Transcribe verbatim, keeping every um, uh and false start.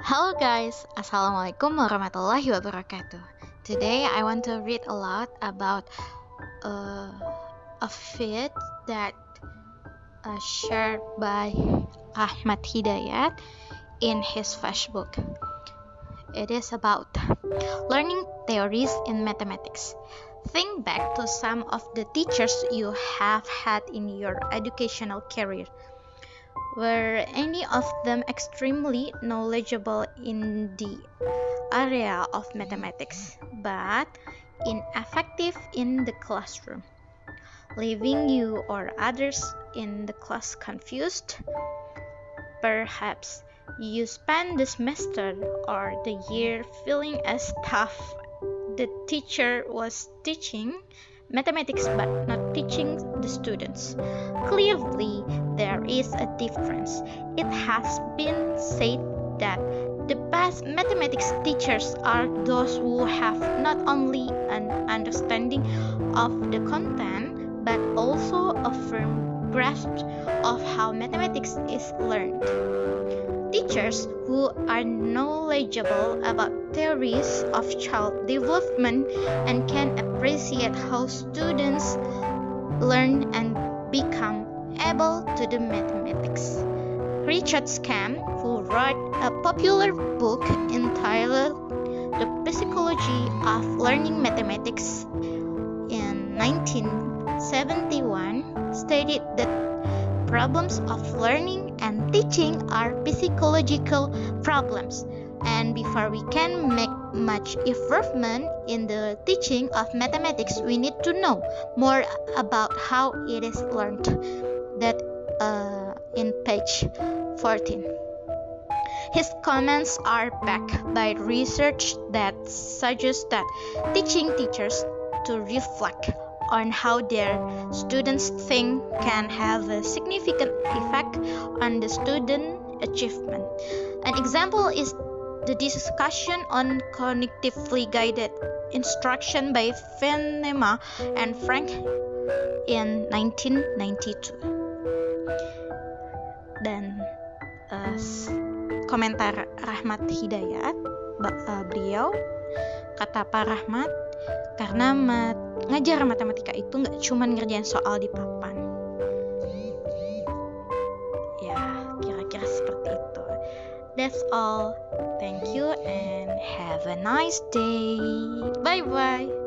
Hello guys, Assalamualaikum warahmatullahi wabarakatuh. Today I want to read a lot about uh, a feed that uh, shared by Ahmad Hidayat in his Facebook. It is about learning theories in mathematics. Think back to some of the teachers you have had in your educational career. Were any of them extremely knowledgeable in the area of mathematics, but ineffective in the classroom, leaving you or others in the class confused? Perhaps you spent the semester or the year feeling as tough the teacher was teaching mathematics but not teaching the students. Clearly, there is a difference. It has been said that the best mathematics teachers are those who have not only an understanding of the content but also a firm grasp of how mathematics is learned. Teachers who are knowledgeable about theories of child development and can appreciate how students learn and become able to do mathematics. Richard Scamm, who wrote a popular book entitled The Psychology of Learning Mathematics in nineteen seventy-one, stated that problems of learning and teaching are psychological problems, and before we can make much improvement in the teaching of mathematics, we need to know more about how it is learned. That uh, in page fourteen. His comments are backed by research that suggests that teaching teachers to reflect on how their students think can have a significant effect on the student achievement. An example is the discussion on cognitively guided instruction by Venema and Frank in nineteen ninety-two. Dan uh, komentar Rahmat Hidayat, uh, beliau kata Pak Rahmat, karena mat, ngajar matematika itu nggak cuma ngerjain soal di papan. Ya, kira-kira seperti itu. That's all. Thank you and have a nice day. Bye-bye.